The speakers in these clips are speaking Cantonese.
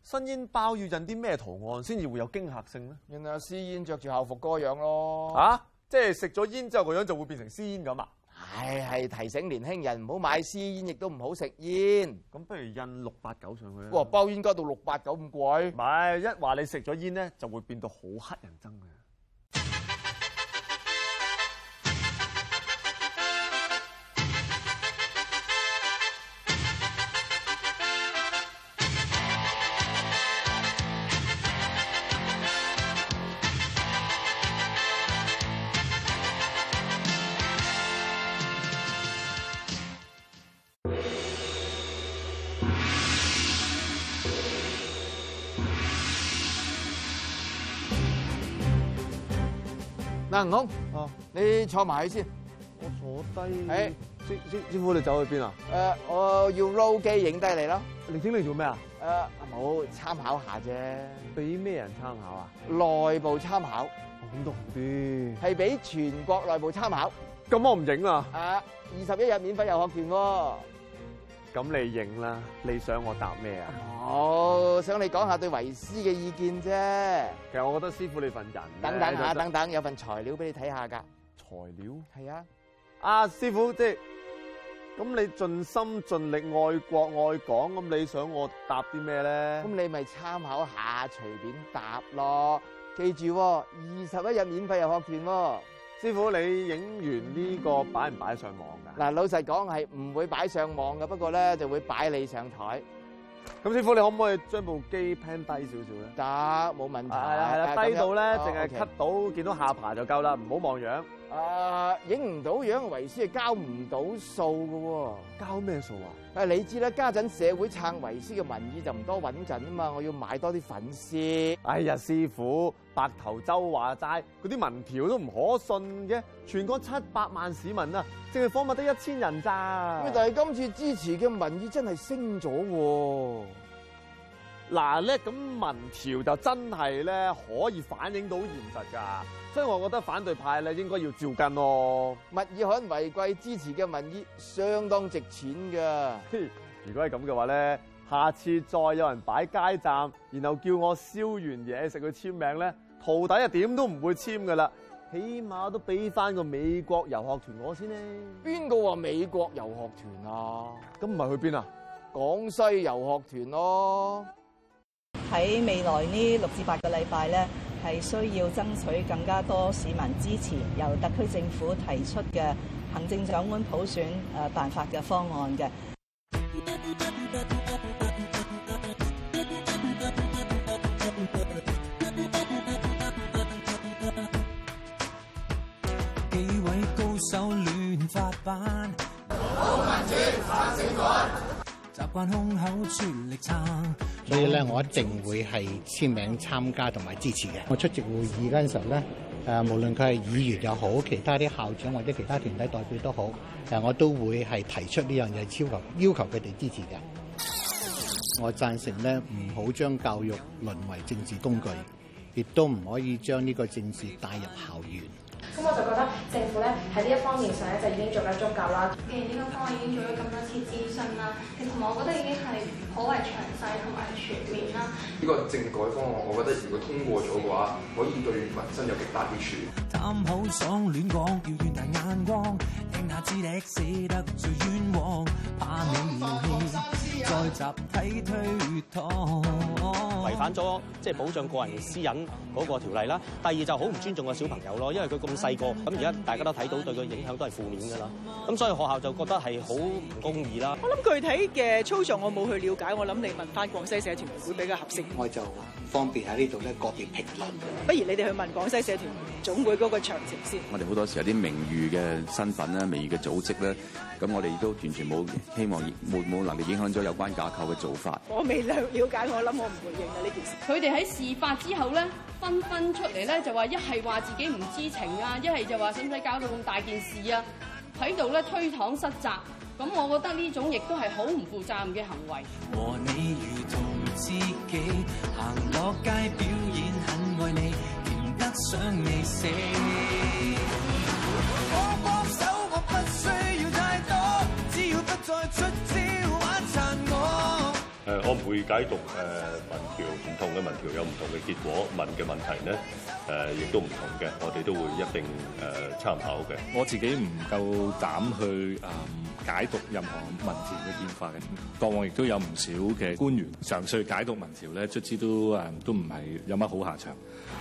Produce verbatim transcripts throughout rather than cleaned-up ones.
新煙包要印啲咩圖案先至會有驚嚇性咧？ 原來私煙着住校服嗰個樣咯。 啊！即係食咗煙之後個樣就會變成私煙咁啊？ 係係提醒年輕人唔好買私煙，亦都唔好食煙。 咁不如印六八九上去啦。 哇！包煙加到六八九咁貴？ 唔係，一話你食咗煙咧，就會變到好乞人憎嘅。 嗱，吳空， 哦， 你坐埋去先。 我坐低。 誒， 師師師傅，你走去邊啊？ 誒，我要 roll 機影低你咯。 你影嚟做咩啊？ 誒，冇參考下啫。 俾咩人參考啊？ 內部參考。 咁都好啲。 係俾全國內部參考。 咁我唔影啦。 啊，二十一日免費遊學團喎。 咁你影啦，你想我答咩啊？ 我想你講下對維 C 嘅意見啫。 其實我覺得師傅你份人等等下，等等有份材料俾你睇下㗎。 材料？ 係啊。 啊，師傅，即係咁你盡心盡力愛國愛港，咁你想我答啲咩咧？ 咁你咪參考下，隨便答咯。記住喎，二十一日免費遊學團喎。 師傅，你影完呢個擺唔擺上網㗎？ 嗱，老實講係唔會擺上網嘅，不過咧就會擺你上台。 咁師傅，你可唔可以將部機 pan 低少少咧？ 得，冇問題。 係啦係啦，低到咧淨係樣 cut 到見到下巴就夠啦，唔好望樣。 誒，影唔到樣，維 C 係交唔到數嘅喎。 交咩數啊？ 誒，你知啦，家陣社會撐維 C 嘅民意就唔多穩陣啊嘛，我要買多啲粉絲。 哎呀，師傅，白頭周話齋，嗰啲民調都唔可信嘅，全國七百萬市民啊，淨係訪問得一千人咋。 咁但係今次支持嘅民意真係升咗喎。 嗱咧，咁民調就真係咧可以反映到現實㗎，所以我覺得反對派咧應該要照跟咯。 物以罕為貴，支持嘅民意相當值錢㗎。 如果係咁嘅話咧，下次再有人擺街站，然後叫我燒完嘢食去簽名咧，徒弟啊點都唔會簽㗎啦，起碼都俾翻個美國遊學團我先咧。 邊個話美國遊學團啊？ 咁唔係去邊啊？ 廣西遊學團咯。 喺未來呢六至八個禮拜咧，係需要爭取更加多市民支持，由特區政府提出嘅行政長官普選誒辦法嘅方案嘅。 幾位高手亂發版， 好民主反政改， 習慣空口全力撐。 所以咧，我一定會係簽名參加同埋支持嘅。我出席會議嗰陣時候咧，誒無論佢係議員又好，其他啲校長或者其他團體代表都好，誒我都會係提出呢樣嘢，要求要求佢哋支持嘅。我贊成咧，唔好將教育淪為政治工具，亦都唔可以將呢個政治帶入校園。 咁我就覺得政府咧喺呢一方面上咧就已經做得足夠啦。 既然呢個方案已經做咗咁多次諮詢啦，同埋我覺得已經係頗為詳細同埋全面啦。 呢個政改方案，我覺得如果通過咗嘅話，可以對民生有極大益處。 貪口爽亂講，要遠大眼光，聽下知力死得最冤枉，怕你怒氣再集體推搪。 違反咗即係保障個人私隱嗰個條例啦。第二就好唔尊重個小朋友咯，因為佢咁細個，咁而家大家都睇到對佢影響都係負面㗎啦。咁所以學校就覺得係好唔公義啦。 我諗具體嘅操作我冇去了解，我諗你問翻廣西社團會比較合適。 我就方便喺呢度咧個別評論。 不如你哋去問廣西社團總會嗰個詳情先。 我哋好多時有啲名譽嘅身份咧、名譽嘅組織咧，咁我哋都完全冇希望冇冇能力影響咗有關架構嘅做法。 我未了了解，我諗我唔回應啊呢件事。 佢哋喺事發之後咧，紛紛出嚟咧就話一係話自己唔知情啊，一係就話使唔使搞到咁大件事啊，喺度咧推搪失責。咁我覺得呢種亦都係好唔負責任嘅行為。 和你如同知己，行落街表演很愛你，甜得想你死。我幫手，我不需要太多，只要不再出招玩殘我。 誒，我唔會解讀誒、呃、民調，唔同嘅民調有唔同嘅結果，問嘅問題咧誒亦都唔同嘅，我哋都會一並誒、呃、參考嘅。 我自己唔夠膽去誒、呃、解讀任何民調嘅變化嘅，過往亦都有唔少嘅官員嘗試解讀民調咧，卒之都誒、呃、都唔係有乜好下場。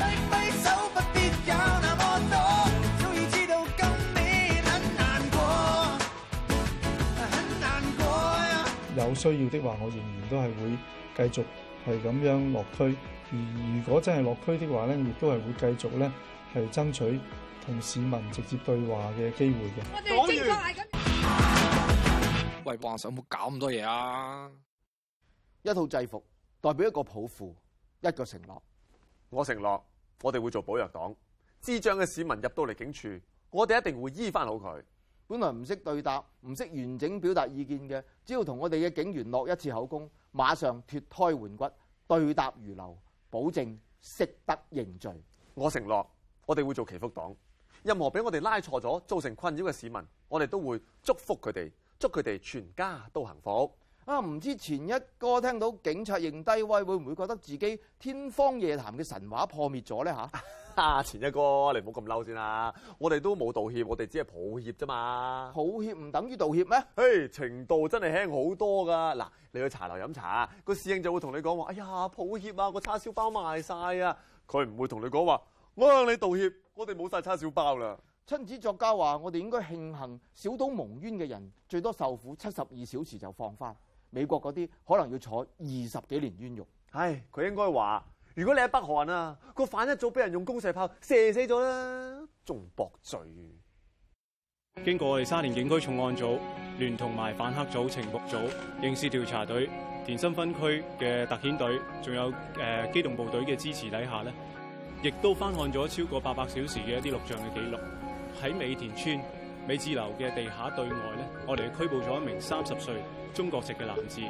有需要的話，我仍然都係會繼續係咁樣落區。而如果真係落區的話咧，亦都係會繼續咧係爭取同市民直接對話嘅機會嘅。我哋正話緊。 喂，皇上冇搞咁多嘢啊！ 一套制服代表一個抱負，一個承諾。 我承諾，我哋會做保藥黨。智障嘅市民入到嚟警署，我哋一定會醫翻好佢。 本來唔識對答、唔識完整表達意見嘅，只要同我哋嘅警員落一次口供，馬上脫胎換骨，對答如流，保證識得認罪。 我承諾，我哋會做祈福黨。任何俾我哋拉錯咗、造成困擾嘅市民，我哋都會祝福佢哋，祝佢哋全家都幸福。 啊，唔知前一哥聽到警察認低威，會唔會覺得自己天方夜譚嘅神話破滅咗咧？嚇！ 啊，前一哥，你唔好咁嬲先啦！我哋都冇道歉，我哋只係抱歉啫嘛。 抱歉唔等於道歉咩？ 嘿，程度真係輕好多噶。嗱，你去茶樓飲茶，個侍應就會同你講話：哎呀，抱歉啊，個叉燒包賣晒啊！佢唔會同你講話：我向你道歉，我哋冇晒叉燒包啦。 親子作家話：我哋應該慶幸小島蒙冤嘅人最多受苦七十二小時就放翻，美國嗰啲可能要坐二十幾年冤獄。 唉，佢應該話。如果你喺北韓啊，個犯一早俾人用公射炮射死咗啦，仲駁罪。 經過我哋沙田警區重案組聯同埋反黑組、情報組、刑事調查隊、田心分區嘅特遣隊，仲有誒、呃、機動部隊嘅支持底下咧，亦都翻看咗超過八百小時嘅一啲錄像嘅記錄。喺美田村美智樓嘅地下對外咧，我哋拘捕咗一名三十歲中國籍嘅男子。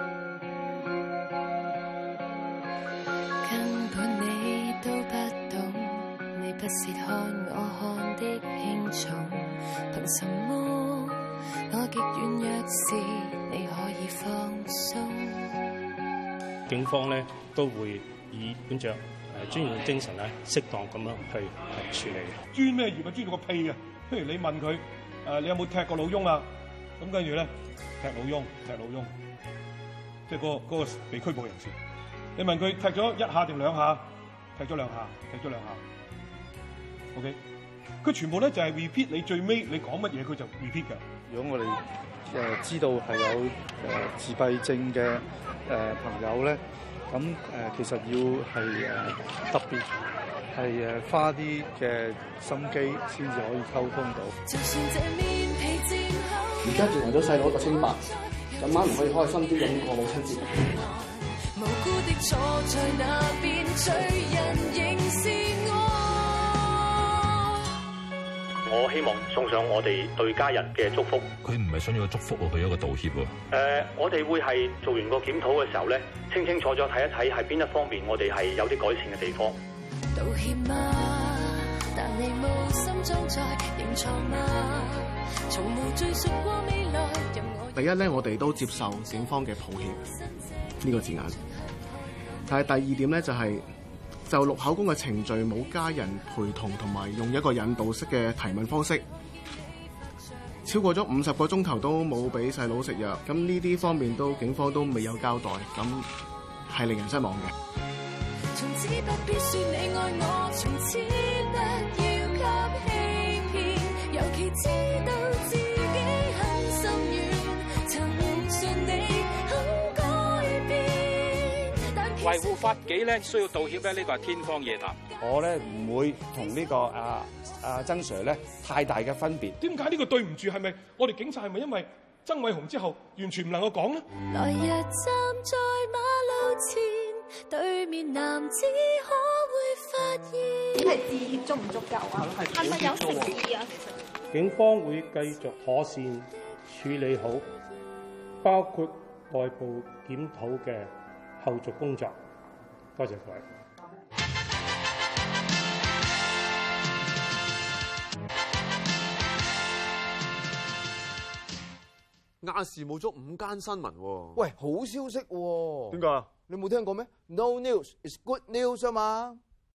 不是看我看的輕重，憑什麼我極軟弱時你可以放鬆？ 警方咧都會以本着誒專業嘅精神咧，適當咁樣去處理。 專咩業啊？專到個屁啊！譬如你問佢誒，你有冇踢過老翁啊？咁跟住咧，踢老翁，踢老翁，即係嗰個嗰個被拘捕人士。你問佢踢咗一下定兩下？踢咗兩下，踢咗兩下。OK，佢全部咧就係 repeat 你最尾你講乜嘢，佢就 repeat 㗎。 如果我哋誒、呃、知道係有誒、呃、自閉症嘅誒、呃、朋友咧，咁誒、呃、其實要係誒、呃、特別係誒花啲嘅心機先至可以溝通到。 而家仲為咗細佬一個清白，今晚唔可以開心啲咁過母親節。無辜的坐在那邊，罪人仍是我。 我希望送上我哋對家人嘅祝福。 佢唔係想要個祝福喎，佢有一個道歉喎。誒、 呃，我哋會係做完個檢討嘅時候咧，清清楚楚睇一睇係邊一方面我哋係有啲改善嘅地方。道歉嗎？但你無心裝載認錯嗎？從無追溯過未來。 第一咧，我哋都接受警方嘅抱歉呢個字眼。但係第二點咧，就係、是。就錄口供嘅程序冇家人陪同，同埋用一個引導式嘅提問方式，超過咗五十個鐘頭都冇俾細佬食藥，咁呢啲方面都警方都未有交代，咁係令人失望嘅。從此不必說你愛我，從此不要給欺騙，尤其知道自己很心軟，曾信你肯改變，但維護法紀咧需要道歉咧，呢個係天方夜譚。 我咧唔會同呢、這個啊啊曾 Sir 咧太大嘅分別。 點解呢個對唔住？係咪我哋警察係咪因為曾偉雄之後完全唔能夠講呢？來日站在馬路前，對面男子可會發現？ 係致歉足唔足夠啊？係咪有誠意啊？ 警方會繼續妥善處理好，包括內部檢討嘅後續工作。多謝各位。 亞視冇咗五間新聞喎。 喂，好消息喎！ 點解啊？ 你冇聽過咩 ？No news is good news 啊嘛！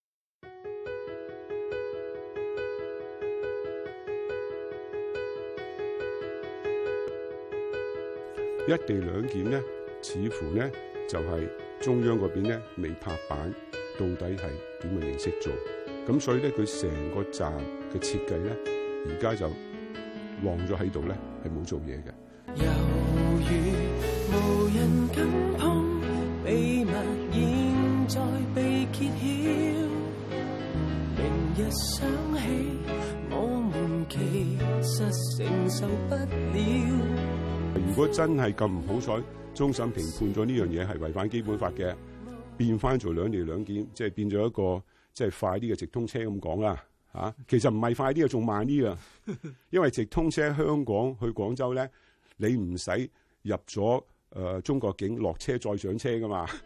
一地兩檢咧，似乎咧就係中央嗰邊咧未拍板，到底係點嘅形式做？咁所以咧，佢成個站嘅設計咧，而家就晾咗喺度咧，係冇做嘢嘅。 猶如無人敢碰，秘密現在被揭曉。明日想起，我們其實承受不了。 如果真係咁唔好彩，終審庭判咗呢樣嘢係違反基本法嘅，變翻做兩地兩檢，即係變咗一個即係快啲嘅直通車咁講啦嚇。其實唔係快啲嘅，仲慢啲啊！因為直通車香港去廣州咧，你唔使入咗誒、呃、中國境落車再上車噶嘛。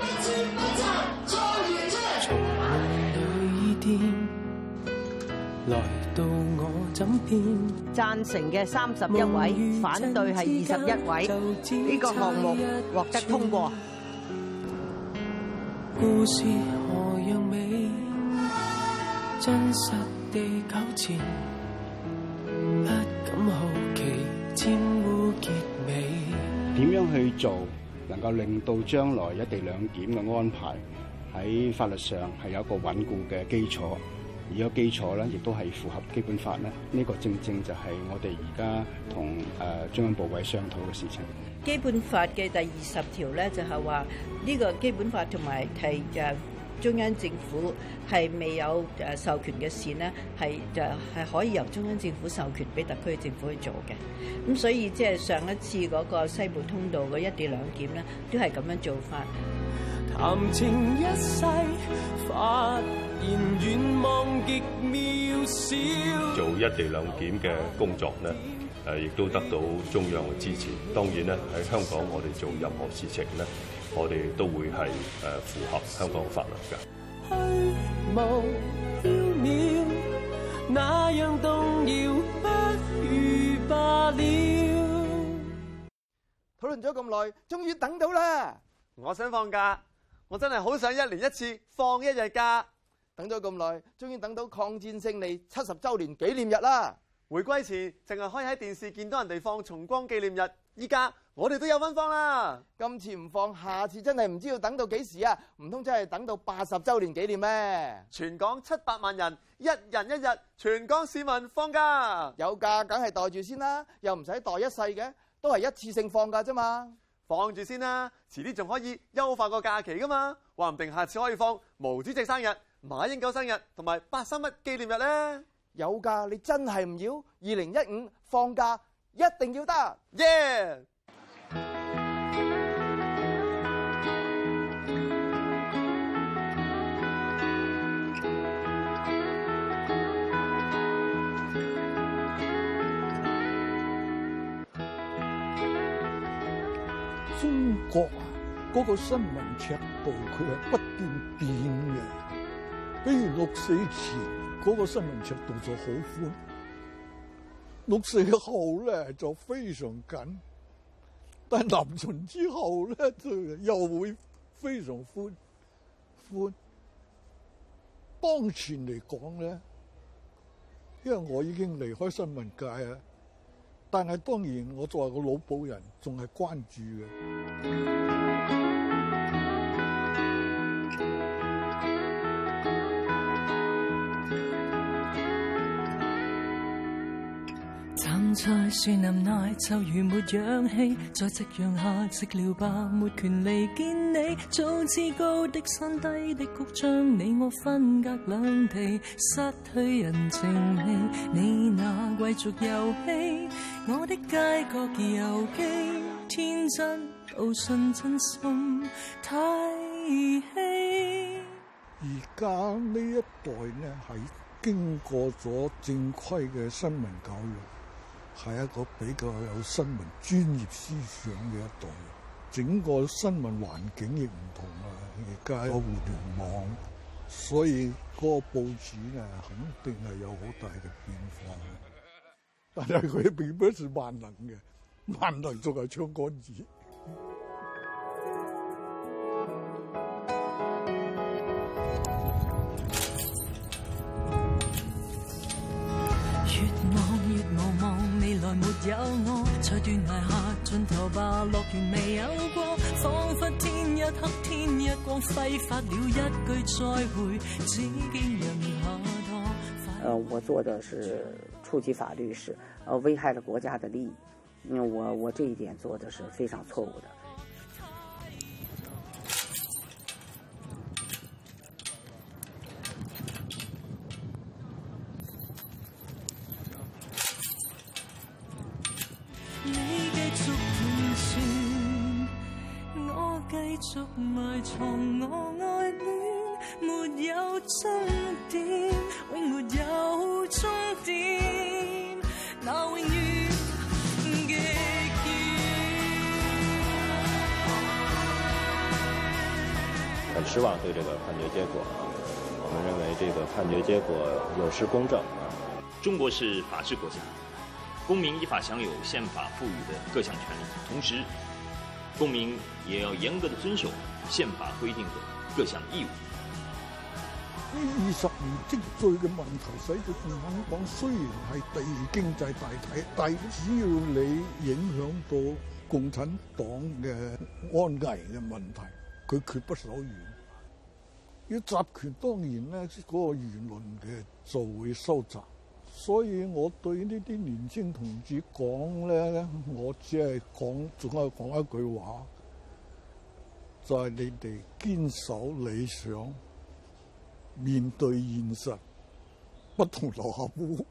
來到我枕邊， 贊成嘅三十一位，反對係二十一位，呢、這個項目獲得通過。 故事何樣美，真實地糾纏，不敢好奇，沾污結尾。 點樣去做，能夠令到將來一地兩檢嘅安排喺法律上係有一個穩固嘅基礎？而個基礎咧，亦都係符合基本法咧。呢個正正就係我哋而家同誒中央部委商討嘅事情。 基本法嘅第二十條咧，就係話呢個基本法同埋係誒中央政府係未有誒授權嘅事呢，係就係可以由中央政府授權俾特區政府去做嘅。咁所以即係上一次嗰個西部通道嘅一地兩檢咧，都係咁樣做法。 談情一世，發現願望極渺小。 做一地兩檢嘅工作呢，誒亦都得到中央嘅支持。當然咧，喺香港我哋做任何事情呢，我哋都會係誒符合香港法律嘅。 虛無縹緲，那樣動搖，不如罷了。 討論咗咁耐，終於等到啦！ 我想放假。我真係好想一年一次放一日假， 等咗咁耐，終於等到抗戰勝利七十週年紀念日啦！ 回歸前淨係可以喺電視見到人哋放重光紀念日，依家我哋都有份放啦！ 今次唔放，下次真係唔知要等到幾時啊？唔通真係等到八十週年紀念咩？ 全港七百萬人，一人一日，全港市民放假， 有假梗係袋住先啦，又唔使袋一世嘅，都係一次性放假啫嘛。 放住先啦，遲啲仲可以優化個假期噶嘛，話唔定下次可以放毛主席生日、馬英九生日同埋八三一紀念日咧。 有假你真係唔要？二零一五放假一定要得， 耶！ 中國啊，嗰個新聞尺度佢係不斷變嘅。比如六四前嗰個新聞尺度就好寬，六四後咧就非常緊，但係南巡之後咧就又會非常寬寬。當前嚟講咧，因為我已經離開新聞界啊。但係當然，我作為個老保人，仲係關注嘅。 站在樹林內就如沒氧氣，在夕陽下寂寥吧，沒權利見你。早知高的山低的谷，將你我分隔兩地，失去人情味。你那貴族遊戲，我的街角遊記，天真到信真心太兒戲。 而家呢一代呢，係經過咗正規嘅新聞教育。係一個比較有新聞專業思想嘅一代，整個新聞環境亦唔同啦。而家有互聯網，所以嗰個報紙咧肯定係有好大嘅變化。但係佢並不是萬能嘅， 萬能仲係槍桿子。 越望越無望，未來沒有我，在斷崖下盡頭吧，樂園未有過，彷彿天一黑天一光，揮發了一句再會，只見人下墮。 呃，我做的是觸及法律是，呃，危害了國家的利益，因為我我這一點做的是非常錯誤的。 你繼續盤旋，我繼續埋藏我愛戀，沒有終點，永沒有終點，那永遠極遠。 很失望對這個判決結果啊，我們認為這個判決結果有失公正啊。 中國是法治國家。公民依法享有憲法賦予的各項權利，同時，公民也要嚴格的遵守憲法規定的各項義務。 呢二十年積聚嘅問題，使到共產黨雖然係第二經濟大體，但只要你影響到共產黨嘅安危嘅問題，佢決不手軟。要集權，當然咧，嗰個輿論嘅就會收窄。所以我對呢啲年輕同志講咧，我只係講，仲係講一句話，就係你哋堅守理想，面對現實，不同流合污。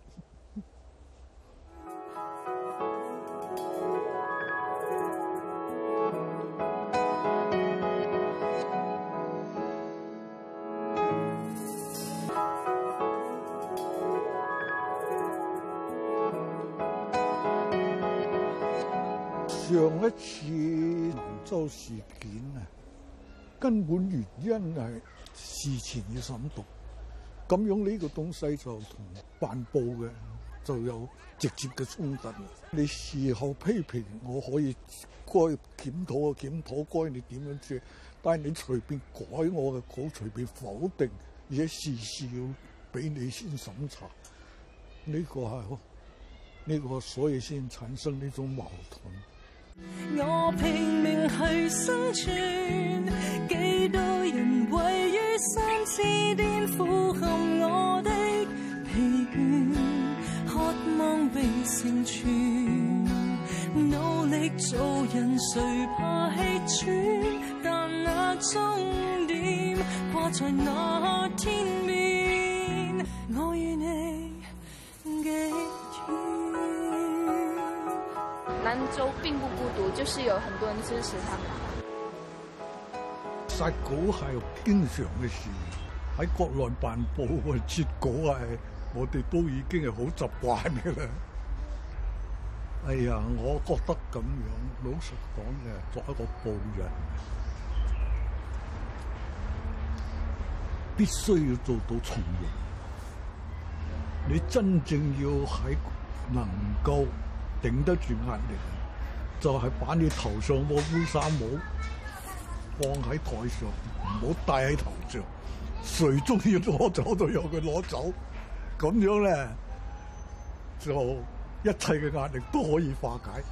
上一次蘭州事件啊，根本原因係事前要審讀，咁樣呢個東西就同辦報嘅就有直接嘅衝突。你事後批評我可以該檢討嘅檢討，該你點樣做，但係你隨便改我嘅稿，隨便否定，而且事事要俾你先審查，呢、這個係呢、這個所以先產生呢種矛盾。 我拼命去生存，幾多人位於山之巔，俯瞰我的疲倦，渴望被成全，努力做人誰怕氣喘，但那終點掛在那天邊，我與你極遠。 蘭州並不孤獨，就是有很多人支持他們。 殺稿係經常嘅事，喺國內辦報啊，截稿係我哋都已經係好習慣嘅啦。哎呀，我覺得咁樣，老實講嘅，作為一個報人，必須要做到從容。你真正要喺能夠頂得住壓力，就係、是、把你頭上個烏紗帽放喺台上，唔好戴喺頭上。誰中意攞走就由佢攞走，咁樣咧就一切嘅壓力都可以化解。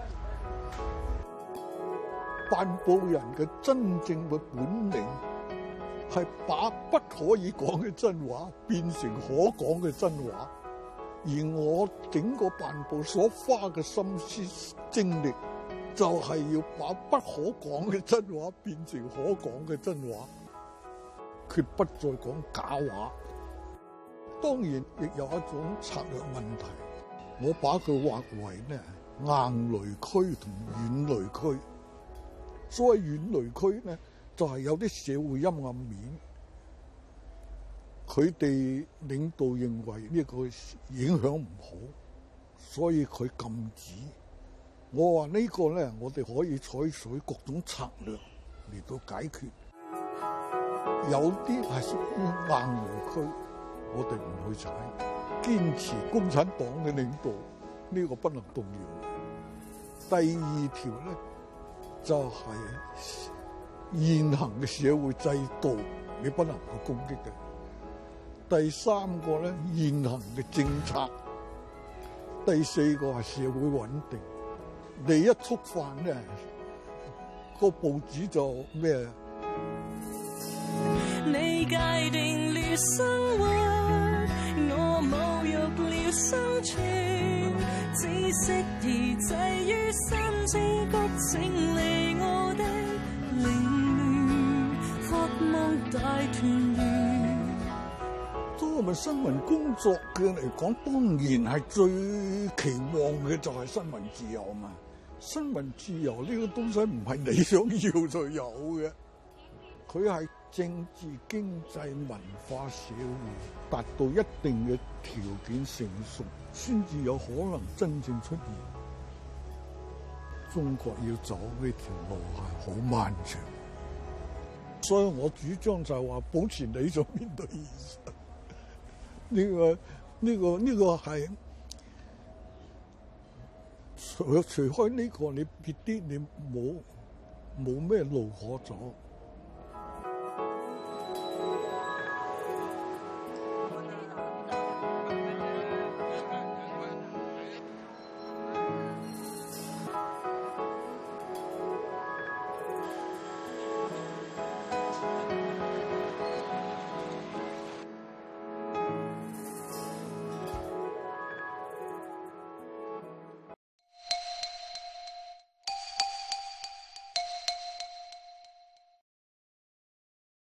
辦報人嘅真正嘅本領係把不可以講嘅真話變成可講嘅真話。而我整個辦報所花嘅心思精力，就係要把不可講嘅真話變成可講嘅真話，決不再講假話。當然亦有一種策略問題，我把佢劃為呢硬雷區同軟雷區。所謂軟雷區呢，就係有啲社會陰暗面。佢哋領導認為呢個影響唔好，所以佢禁止。我話呢個咧，我哋可以採取各種策略嚟到解決。有啲係屬於硬雷區，我哋唔去踩，堅持共產黨嘅領導，呢個不能動搖。 第二條咧就係、是、現行嘅社會制度，你不能夠攻擊嘅。第三個咧，現行嘅政策。第四個係社會穩定。你一觸犯咧，個報紙就咩？ 你界定了生活，我侮辱了生存，只適宜滯於心之谷，請離我的凌亂，渴望大團圓。 作為新聞工作嘅嚟講，當然係最期望嘅就係新聞自由嘛。新聞自由呢個東西唔係你想要就有嘅，佢係政治、經濟、文化、社會達到一定嘅條件成熟，先至有可能真正出現。中國要走呢條路係好漫長，所以我主張就係話保持理想面對現實。呢個呢個呢個係除除開呢個，你別啲你冇冇咩路可走。